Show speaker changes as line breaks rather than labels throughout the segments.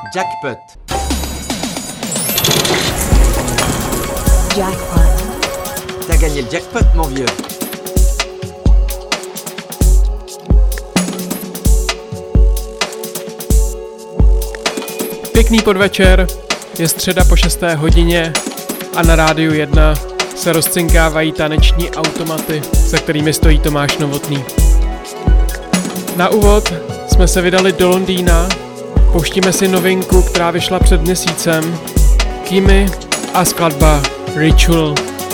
Jackpot.
Jackpot.
T'as gagné le jackpot, mon vieux.
Pěkný podvečer, je středa po 6. hodině a na Rádiu 1 se rozcinkávají taneční automaty, za kterými stojí Tomáš Novotný. Na úvod jsme se vydali do Londýna, pouštíme si novinku, která vyšla před měsícem, Kimi a skladba Ritual.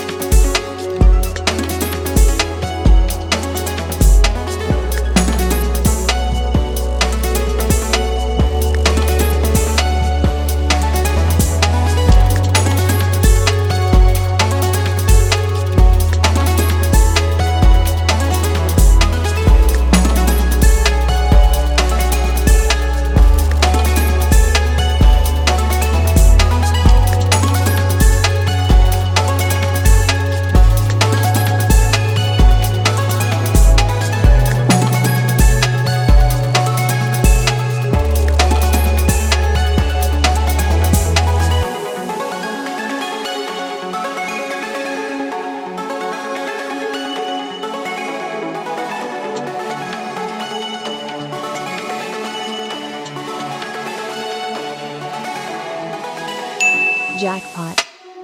Jackpot.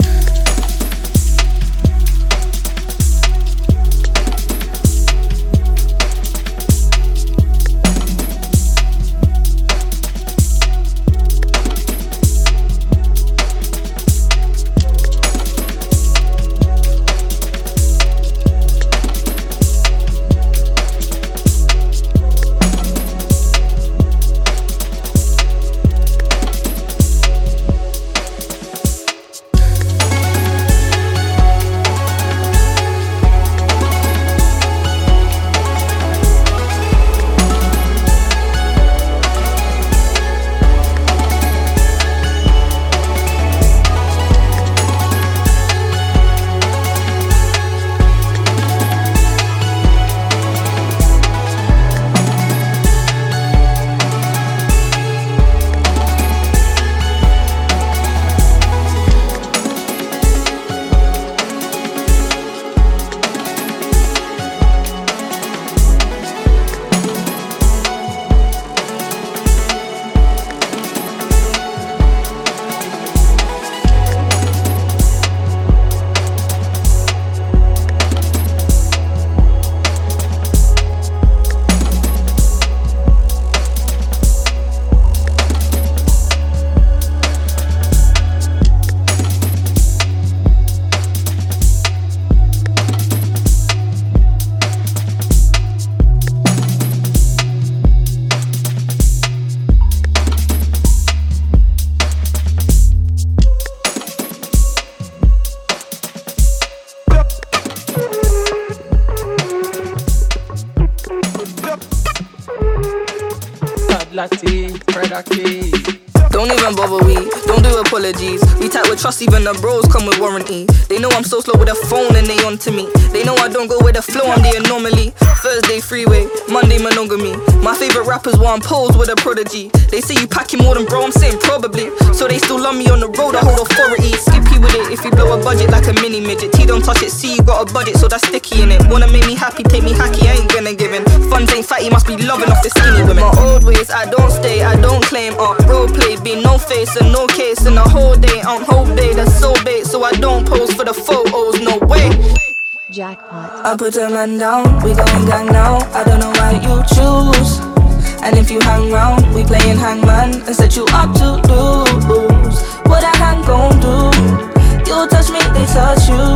Don't even bother we, don't do apologies. We tight with trust, even the bros come with warranty. They know I'm so slow with the phone and they on to me. They know I don't go with the flow, I'm the anomaly. Thursday freeway, Monday monogamy. My favorite rappers want pose with a prodigy. They say you packing more than bro, I'm saying probably. So they still love me on the road, I hold authority. Skippy with it if you blow a budget like a mini midget. T don't touch it, see you got a budget, so that's sticky in it. Wanna make me happy, take me hacky, I ain't gonna give in. Funds ain't fatty, must be loving off the skinny women. My old ways, I don't stay, I don't claim. Role play, be no face and no case in the whole day. I'm whole day, that's so bait, so I don't pose for the photos, no way.
Jackpot.
I put a man down, we going gang now. I don't know why you choose. And if you hang round, we playing hangman and set you up to lose. What a hang gon' do? You touch me, they touch you.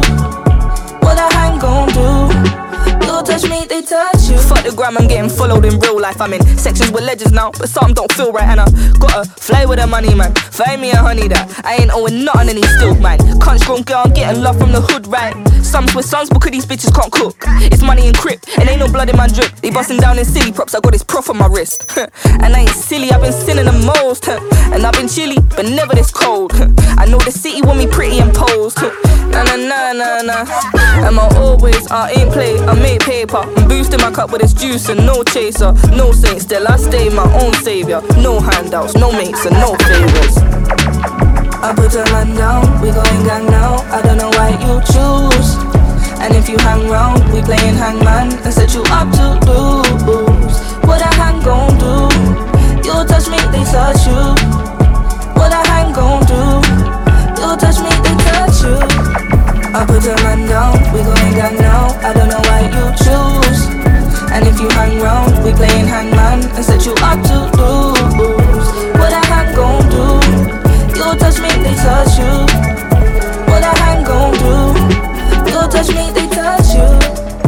What a hang gon' do? You touch me, they touch you. Fuck the gram, I'm getting followed in real life. I'm in sections with legends now, but some don't feel right. And I gotta fly with the money, man. Find me a honey that I ain't owing nothing and he's still mine. Cunt strong girl, I'm getting love from the hood, right? Some with sons because these bitches can't cook. It's money and crip, and ain't no blood in my drip. They busting down in silly props, I got this prof on my wrist. And I ain't silly, I've been sinning the most. And I've been chilly, but never this cold. I know the city want me pretty and posed. Na na na na na. And my always, I ain't play, I make paper. I'm boosting my cup with this juice. producing, no chaser. No saint, still I stay my own savior. No handouts, no mates and no favors. I put a man down, we going gang now. I don't know why you choose. And if you hang round, we playing hangman and set you up to lose. What a hang gon' do? You touch me, they touch you. What a hang gon' do? You touch me, they touch you. I put a man down, we going gang now. I don't know why you choose. And if you hang round, we playing hangman and set you up to lose. What a hang gon' do? You touch me, they touch you. What a hang gon' do? You touch me, they touch you.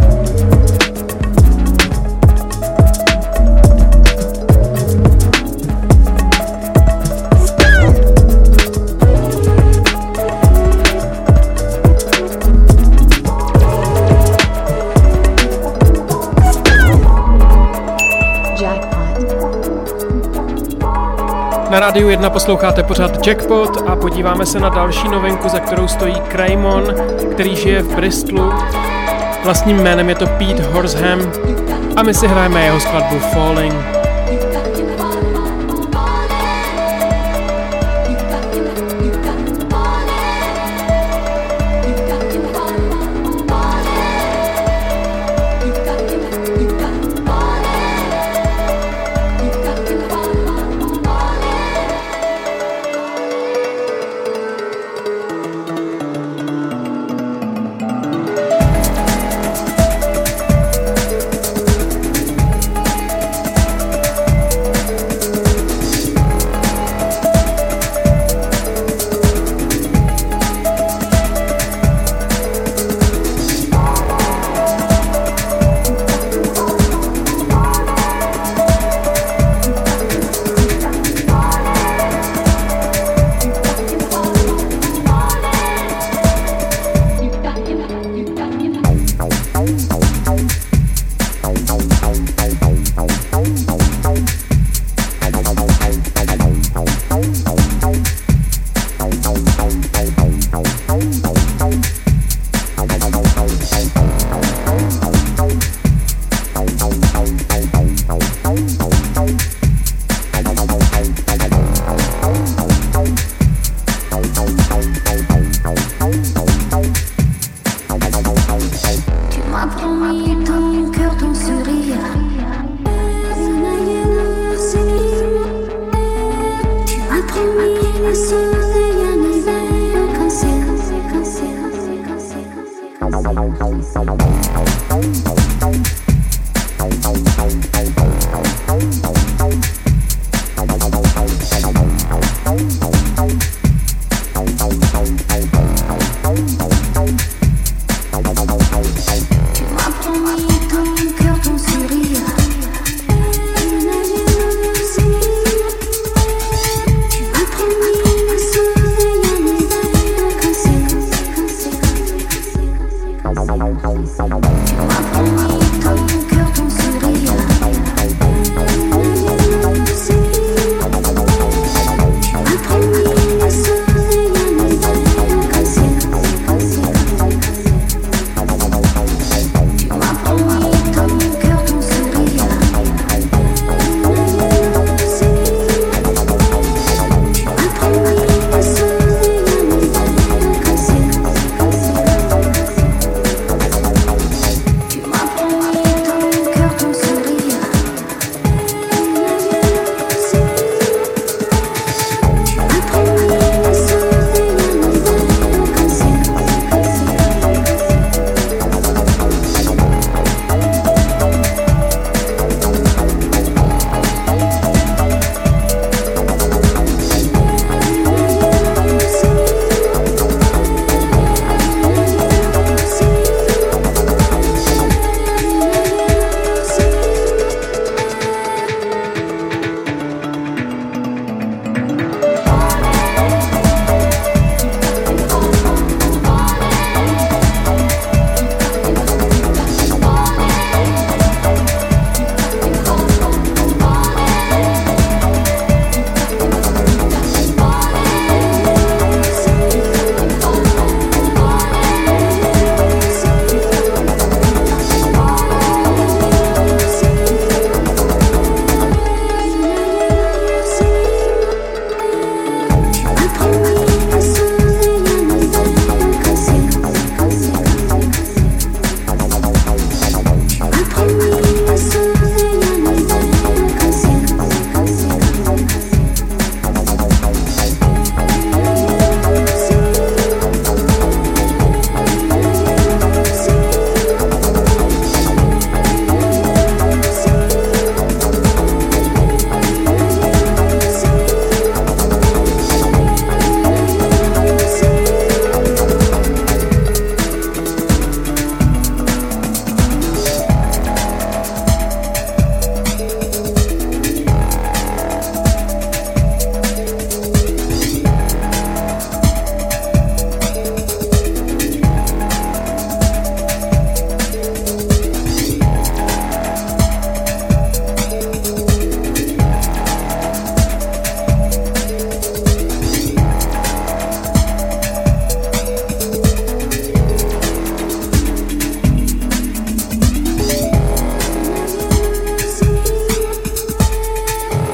Na Rádiu 1 posloucháte pořád Jackpot a podíváme se na další novinku, za kterou stojí Kraymon, který žije v Bristolu. Vlastním jménem je to Pete Horsham a my si hrajeme jeho skladbu Falling.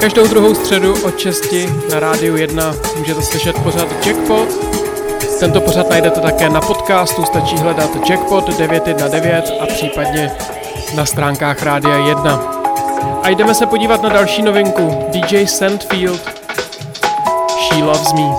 Každou druhou středu od 6 na Rádiu 1 můžete slyšet pořad Jackpot. Tento pořad najdete také na podcastu, stačí hledat Jackpot 919 a případně na stránkách Rádia 1. A jdeme se podívat na další novinku, DJ Sandfield, She Loves Me.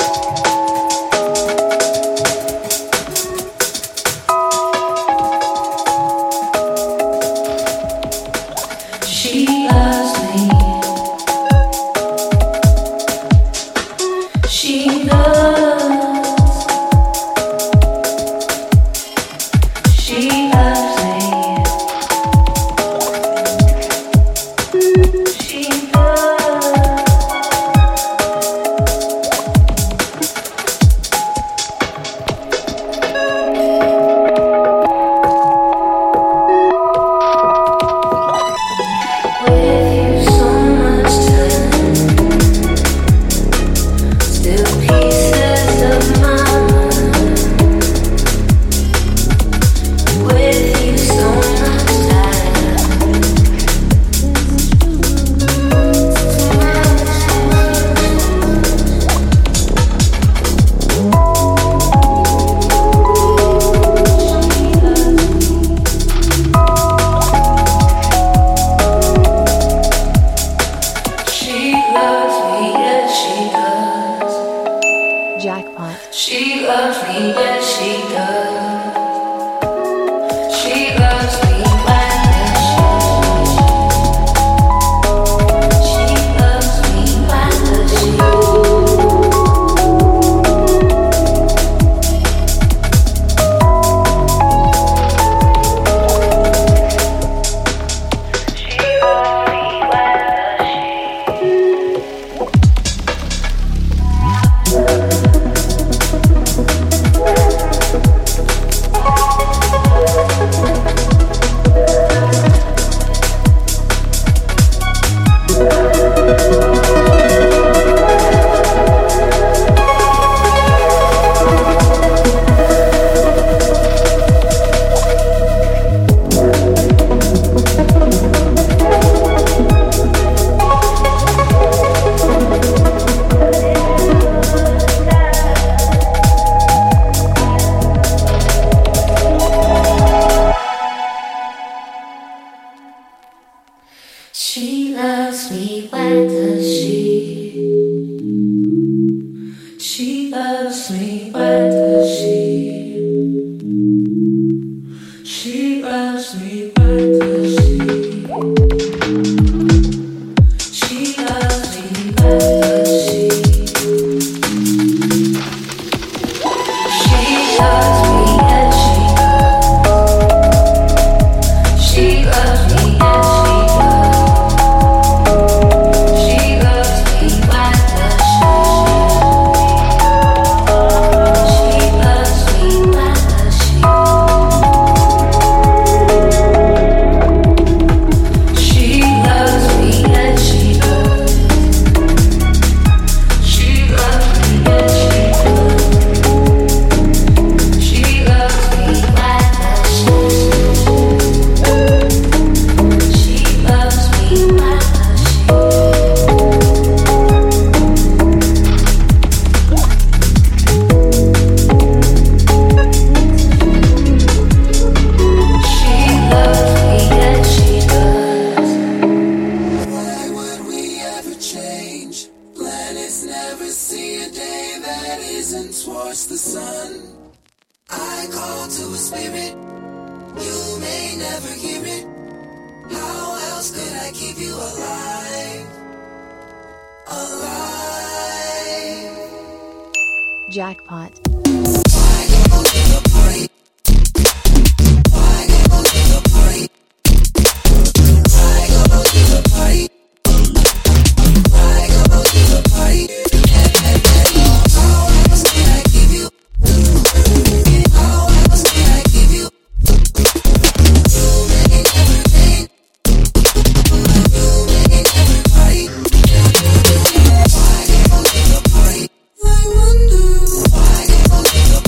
Jackpot.
I wonder why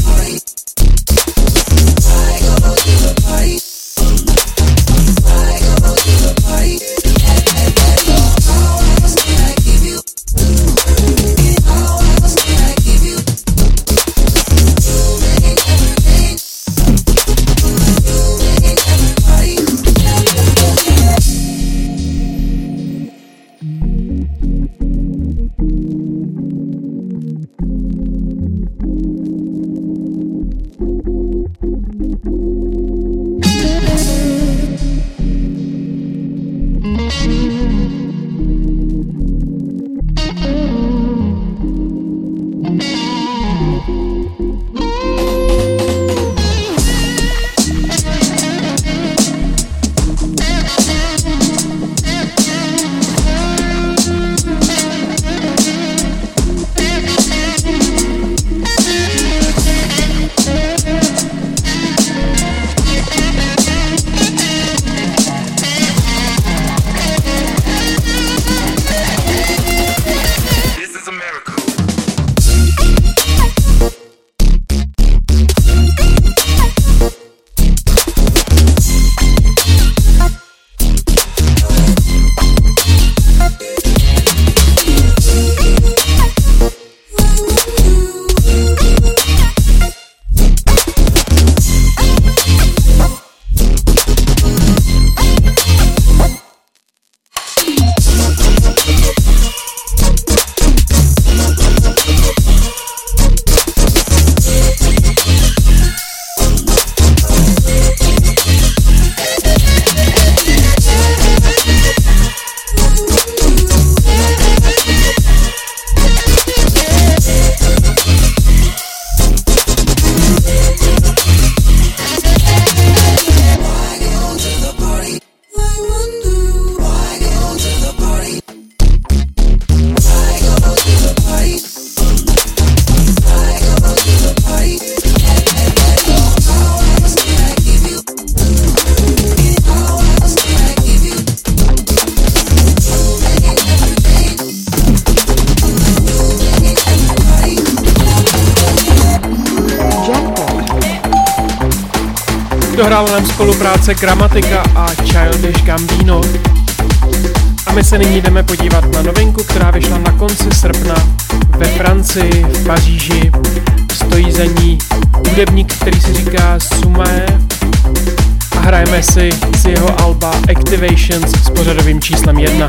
Dohrála nám spolupráce Gramatika a Childish Gambino. A my se nyní jdeme podívat na novinku, která vyšla na konci srpna ve Francii, v Paříži. Stojí za ní hudebník, který si říká Sumae, a hrajeme si z jeho alba Activations s pořadovým číslem 1.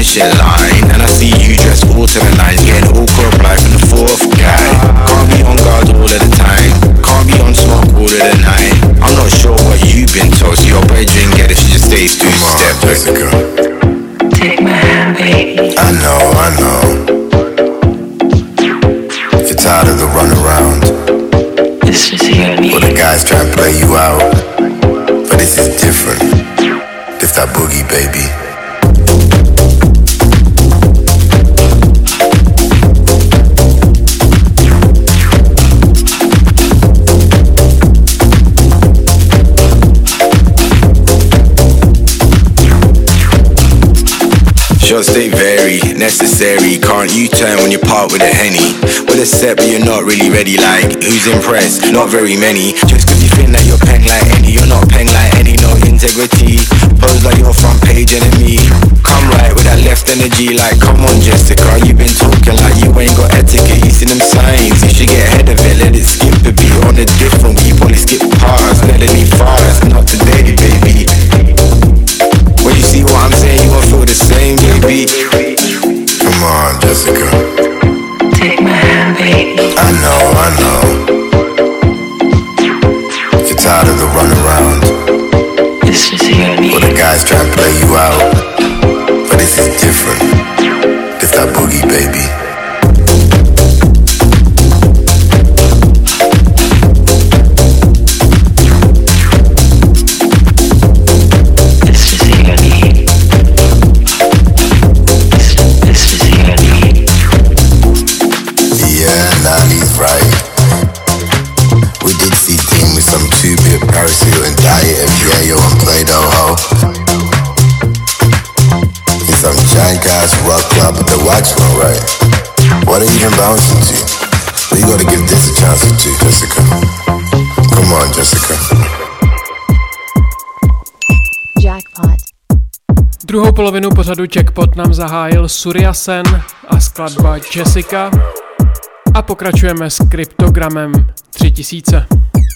finish in line. And I see you dressed all to the nines, getting awkward reply from the fourth guy. Can't be on guard all of the time, can't be on smoke all of the night. I'm not sure what you've been told, so your brethren get it, she just stays two-step.
Jessica,
take my hand, baby.
I know. If you're tired of the runaround,
It's just you and me.
well, the guys try and play you out, but this is different. This that boogie, baby.
Shots they vary, necessary. Can't you turn when you part with a Henny? With a set but you're not really ready, like who's impressed? Not very many. Just cause you think that you're peng like Eddie, you're not peng like Eddie, no integrity. Pose like your front page enemy. Come right with that left energy, like come on Jessica, you been talking like you ain't got etiquette. You see them signs, you should get ahead of it. Let it skip a beat on a different beat. Probably skip past, let it be fast. Not today, baby. When you see what I'm saying, you gon' feel the same, baby.
Come on, Jessica.
Take my hand, baby.
I know. If you're tired of the runaround,
It's just you and me.
well, the guys try and play you out, but this is different. This that boogie, baby.
It's just you and me. It's just you and me.
Yeah, Nani's right. We did see thing with some 2-bit Paris Hilton diet and Yayo and Play-Doh. In some jank-ass rock club at the Waxman, right? What are you even bouncing to? Well, you gotta give this a chance or two, Jessica. Come on, Jessica.
Jackpot.
Druhou polovinu pořadu Jackpot nám zahájil Surya Sen a skladba Jessica a pokračujeme s kryptogramem 3000.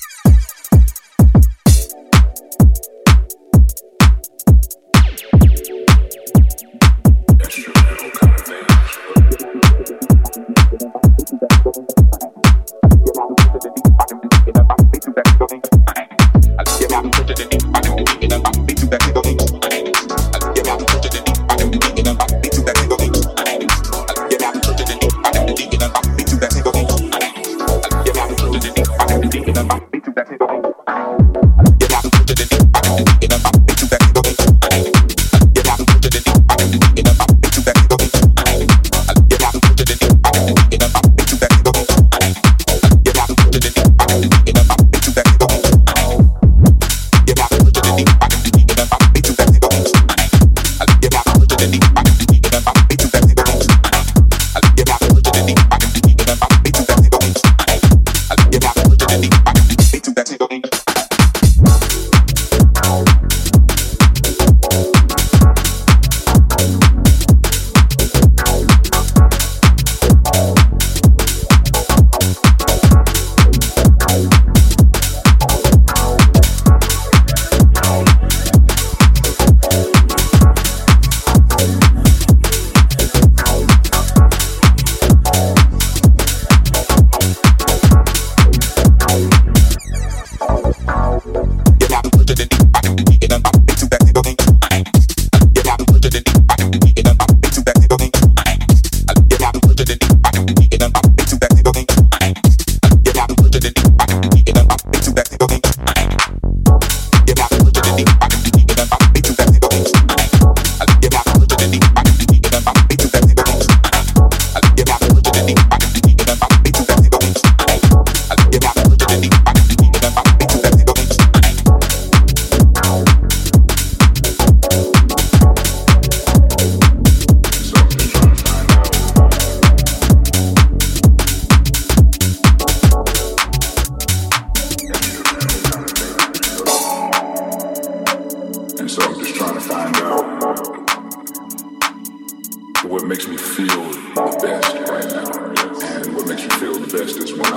what makes me feel the best right now. And what makes me feel the best is when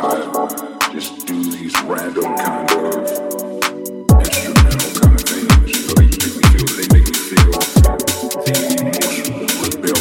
I just do these random kind of instrumental kind of things. They make me feel the emotional rebellion.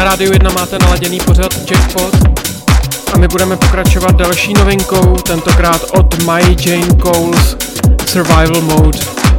Rádiu 1 máte naladěný pořad Jackpot a my budeme pokračovat další novinkou, tentokrát od My Jane Coles, Survival Mode.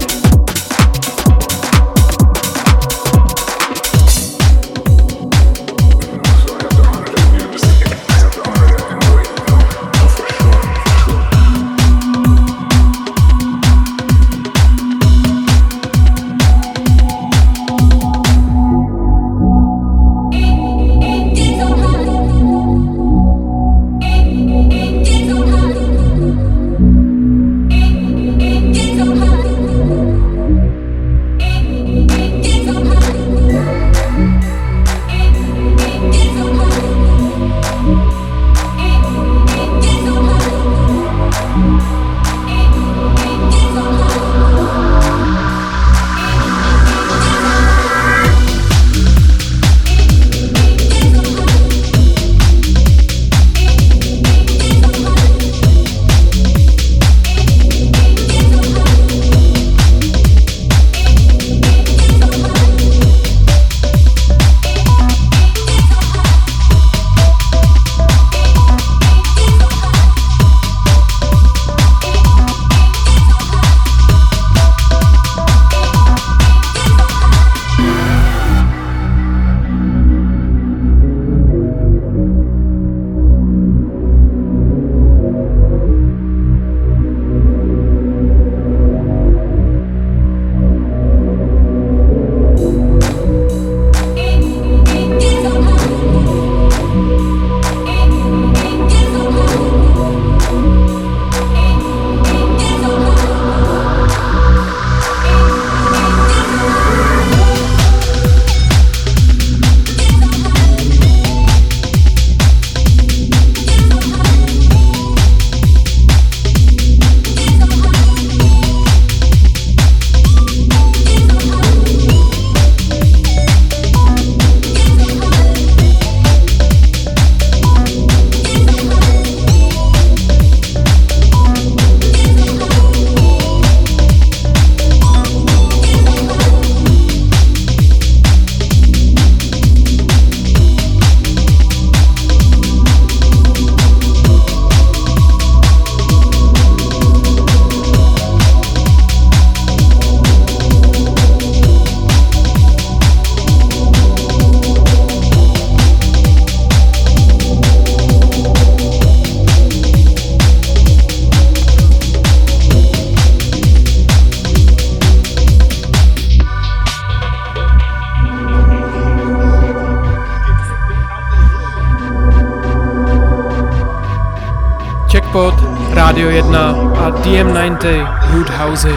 Jackpot, Rádio 1 a DM90 Roothousey.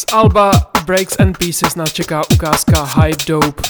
alba Breaks and Pieces nás čeká ukázka High Dope.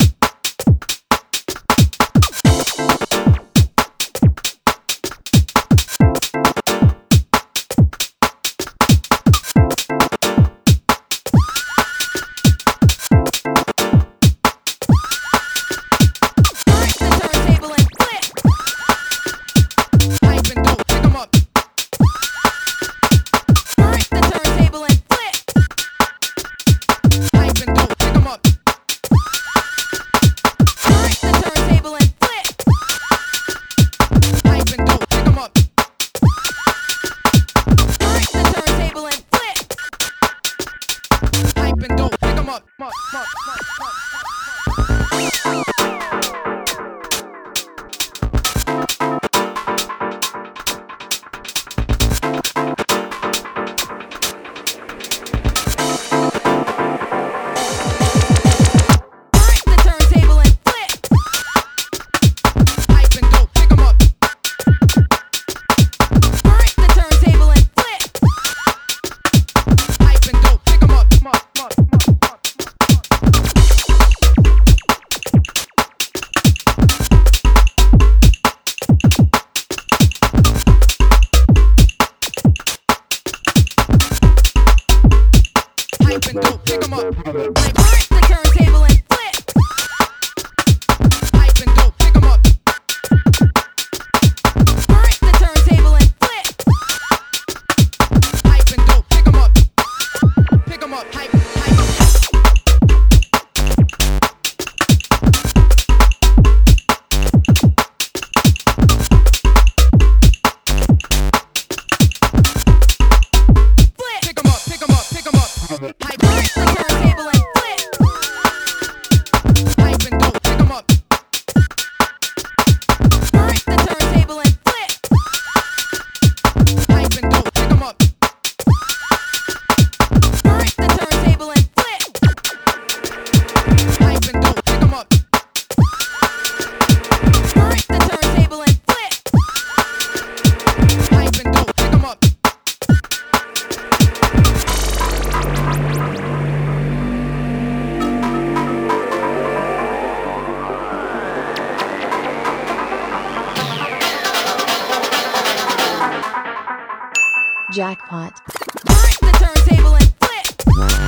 Jackpot.
The turntable and flip.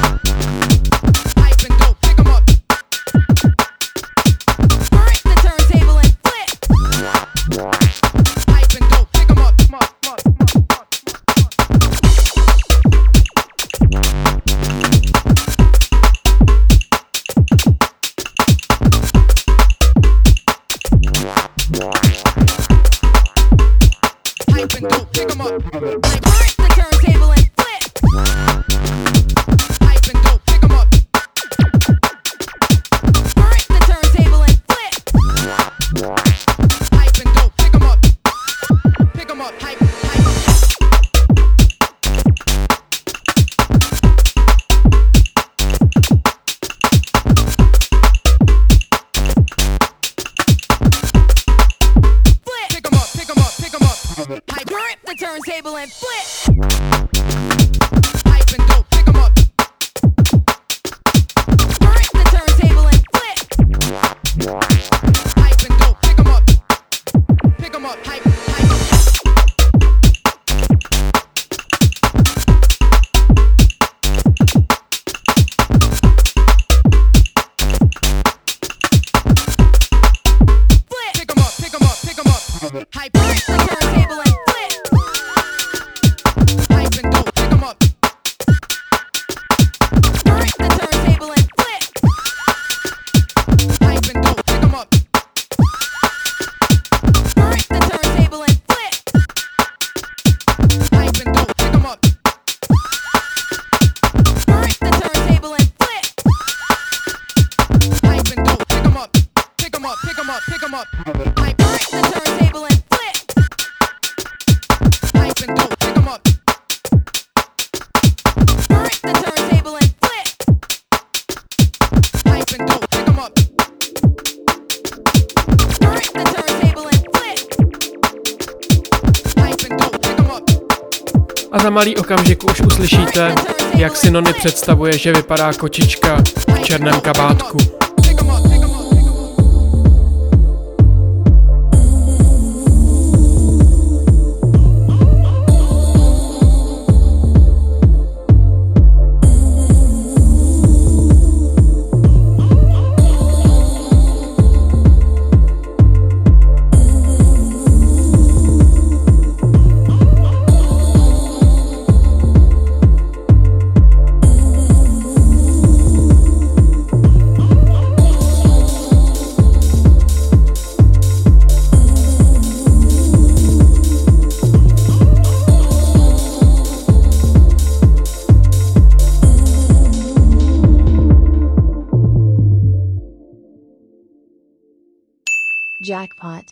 Pipe and dope, pick 'em up. The turntable and flip. Pipe and dope, pick 'em up. Pipe and dope, pick 'em up. The turntable and flip. Pipe and dope, pick 'em up. The turntable and flip. Pipe and dope, pick 'em up. Pick 'em up, hype. Pipe the turntable and flip. Pipe and dope, pick 'em up. The turntable and flip. Pipe and dope, pick 'em up. Pick 'em up, hype. Flip. Pick 'em up, pick 'em up, pick 'em up. Hype the turntable and flip. Pipe and dope, pick 'em up. The turntable and flip. Pipe and dope, pick 'em up. The turntable and flip.
A za malý okamžik už uslyšíte, jak si Nony představuje, že vypadá kočička v černém kabátku.
Jackpot.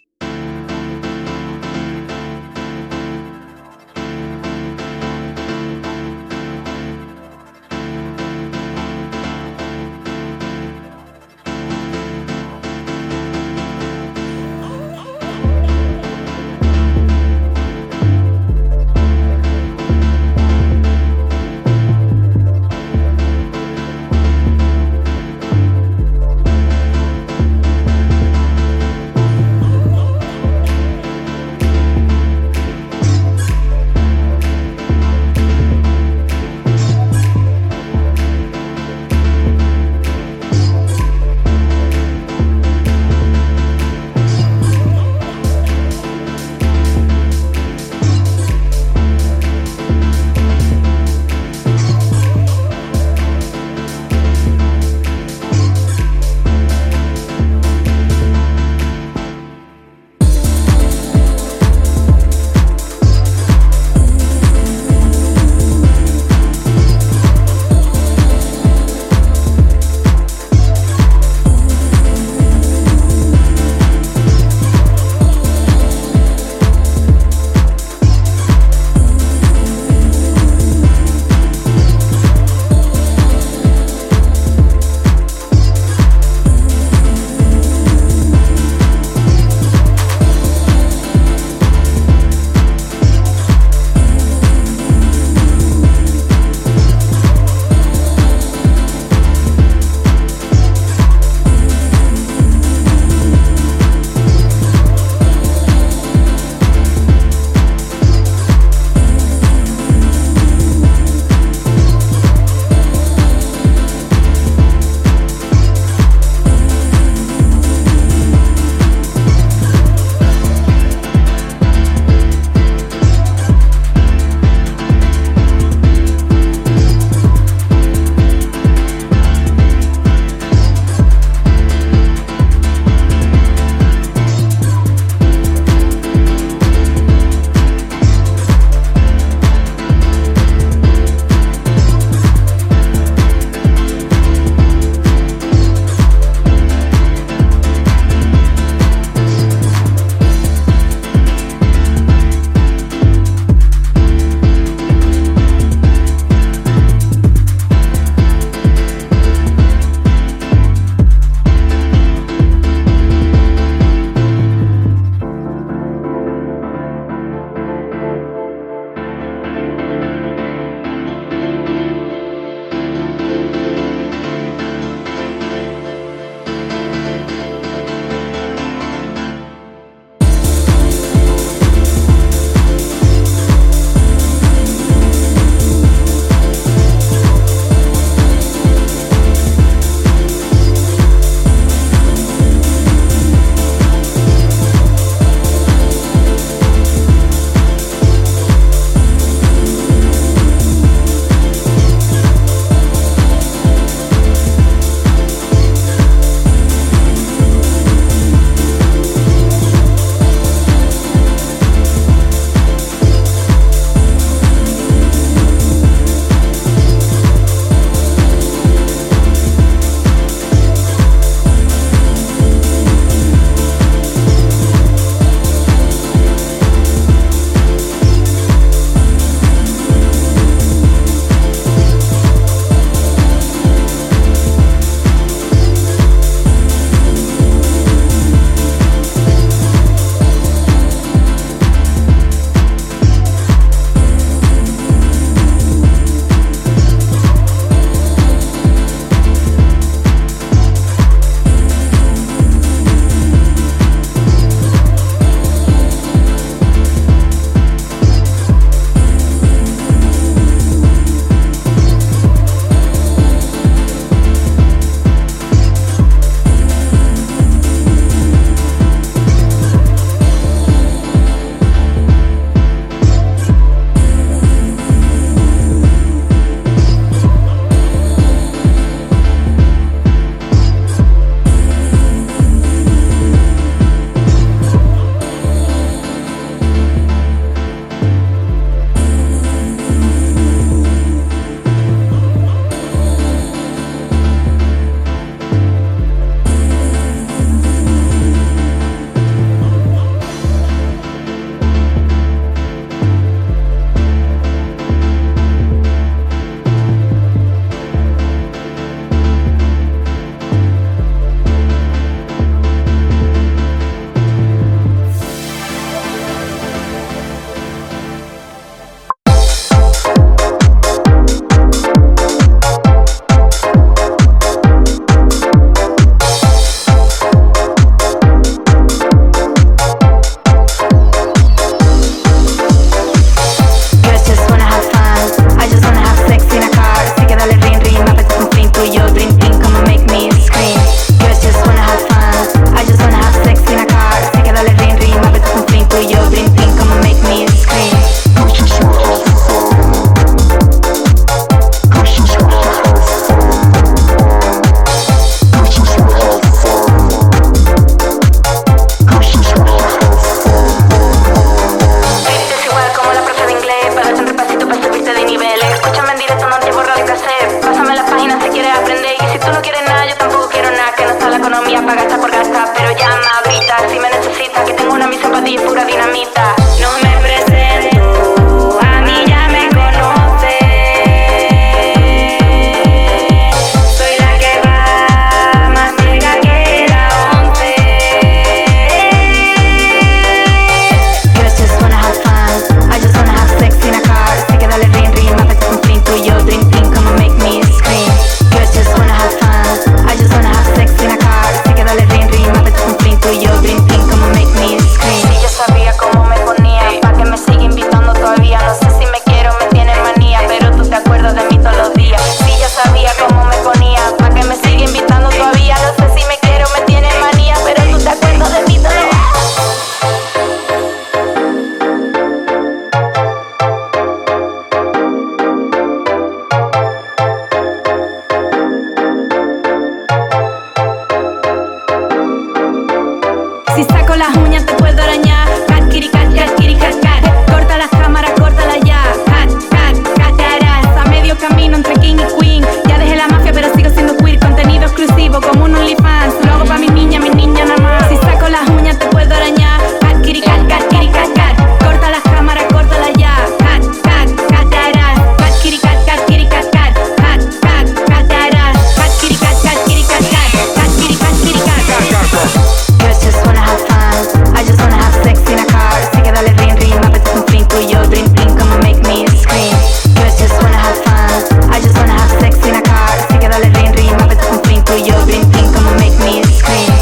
las uñas te puedo arañar. Cat, kitty, cat, cat, kitty, cat, cat. Corta las cámaras, córtala ya. Cat, cat, cat, a medio camino entre king y queen. Ya dejé la mafia pero sigo siendo queer. Contenido exclusivo como un OnlyFans. Lo hago pa' mi niña nada más. Si saco las uñas te puedo arañar. Cat, kitty, cat, cat, kitty, cat, cat. Corta las cámaras, córtala ya. Cat, cat, cat, cat, kitty, cat, cat, kitty, cat, cat. Cat, cat, cat, cat, kitty, cat, cat, kitty, cat, cat. Cat, kitty, cat, kitty, cat, cat.
Girls just wanna have fun. I just wanna have sex in a car. Así que dale ring ring, me apetece un fling tú y yo. Dream dream, come on, make me scream. Girls just wanna have fun. I just wanna have sex in a car. Así que dale ring ring, me apetece un fling tú y yo. Dream dream, come on, make me scream.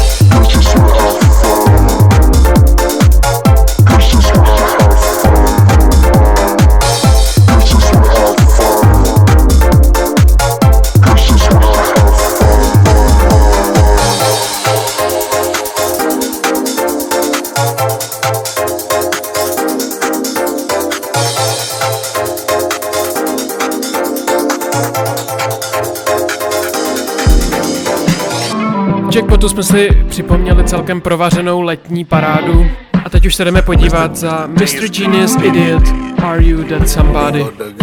Jackpotu jsme si připomněli celkem provařenou letní parádu a teď už se jdeme podívat za Mr. Genius Idiot, Are You That Somebody?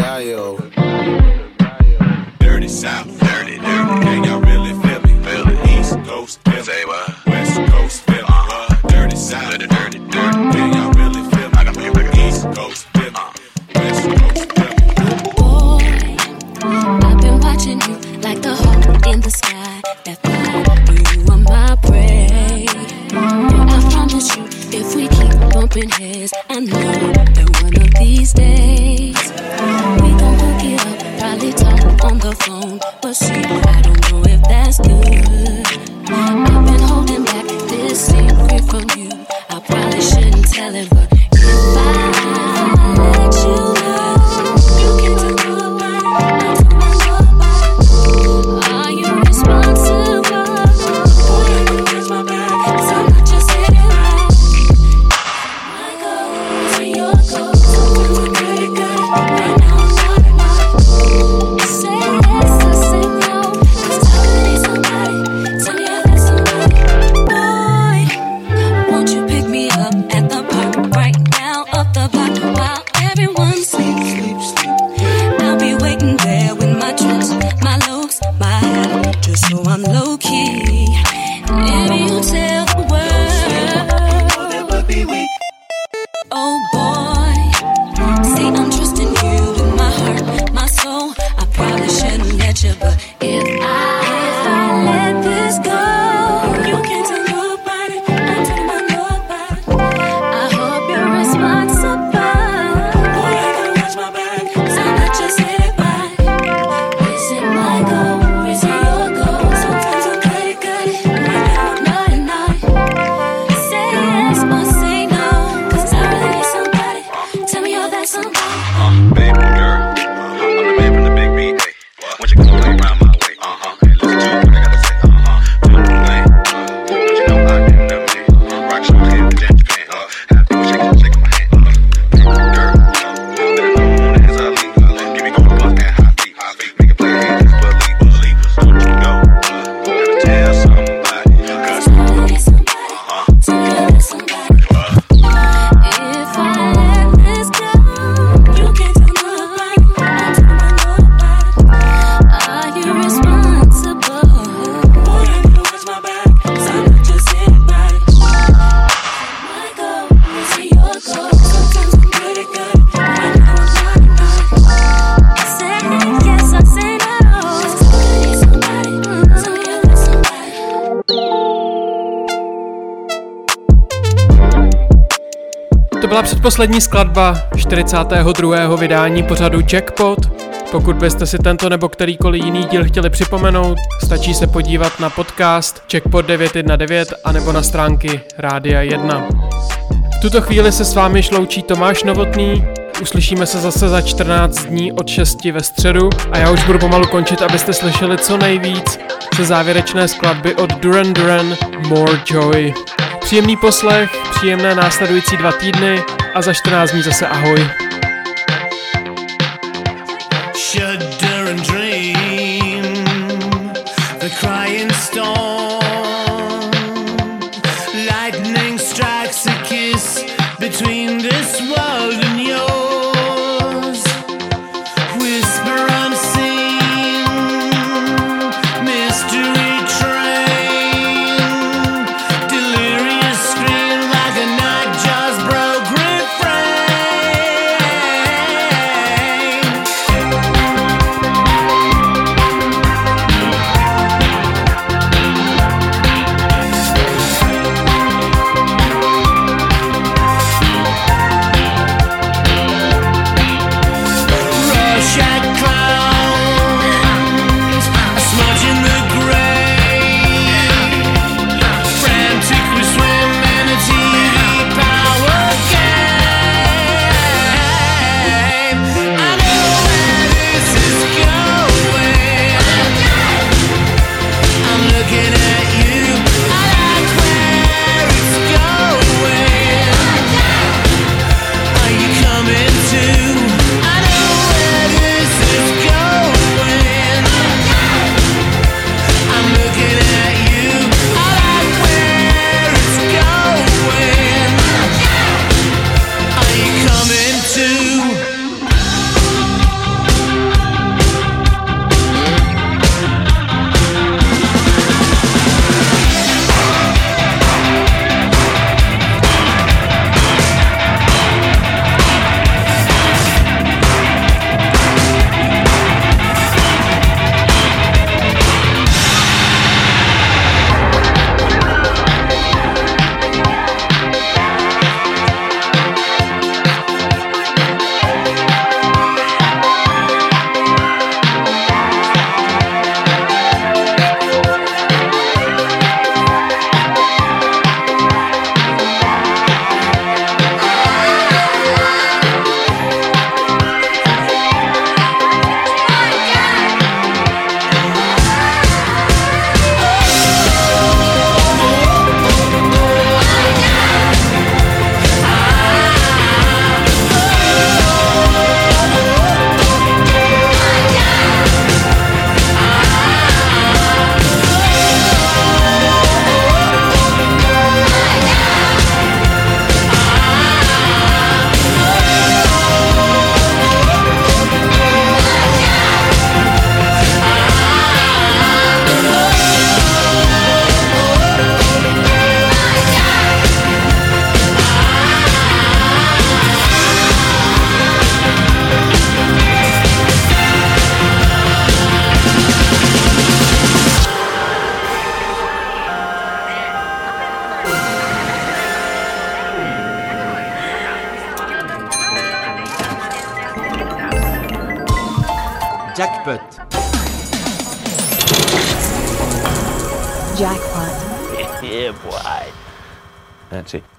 Dirty South, dirty, can y'all really feel me? Feel it, East Coast, say what? West Coast, feel me? Dirty South, dirty, can y'all really feel me? I got me East Coast, feel me? West Coast, feel me?
Boy, I've been watching you like the hawk in the sky. That fly, you are my prey. I promise you, if we keep bumping heads, I know that one of these days we gon' hook it up, probably talk on the phone. But see, I don't know if that's good. I've been holding back this secret from you. I probably shouldn't tell it, but if I let you know, you can't tell nobody, not to my nobody. Are you responsible? Boy, you raise my back, 'cause I'm not just sitting back. My goals are your goals, sometimes I'm pretty good. Right now I'm not. Say yes, I say no, 'cause I need somebody. Tell me I got somebody. Boy, won't you pick me up at the park right now, up the block while everyone sleeps. I'll be waiting there with my tricks, my looks, my hat, just so I'm low key. If you tell the world, it would be weak. Oh boy, see I'm trusting you with my heart, my soul. I probably shouldn't let you, but if I let this go, you can't tell nobody, I tell my nobody. I hope you're responsible. Boy, I gotta watch my back, 'cause I'm not just sitting by. Is it my goal? Is it your goal? Sometimes I'm pretty good, right now I'm not. Say yes or say no, 'cause I really need somebody. Tell me you're that somebody.
Baby girl, I'm the man from the big B. Once you come play around my way, hey, listen to what I gotta say, do the thing, but you know I didn't know me. Rock show here in Japan, have people shaking my hand, girl, let it know on the hands I leave, give me gold bus and high feet, make it play hands, believe, don't you go, gotta tell somebody, 'cause
Tell me you're that somebody. If I let this go, you can't tell nobody, I tell my nobody. Are you responsible? Boy, I gotta watch my back, 'cause I'm not just anybody. My goal is your goal. Sometimes I'm pretty good, right now I'm not. Say yes, I say no. 'Cause I need somebody, so you're that somebody.
To byla předposlední skladba 42. vydání pořadu Jackpot. Pokud byste si tento nebo kterýkoliv jiný díl chtěli připomenout, stačí se podívat na podcast Jackpot 919 anebo na stránky Rádia 1. V tuto chvíli se s vámi loučí Tomáš Novotný, uslyšíme se zase za 14 dní od 6 ve středu a já už budu pomalu končit, abyste slyšeli co nejvíc ze závěrečné skladby od Duran Duran More Joy. Příjemný poslech, příjemné následující 2 týdny a za 14 dní zase ahoj.
Shudder and dream, the crying storm, lightning strikes
Jackpot.
Jackpot.
Yeah, boy. That's it.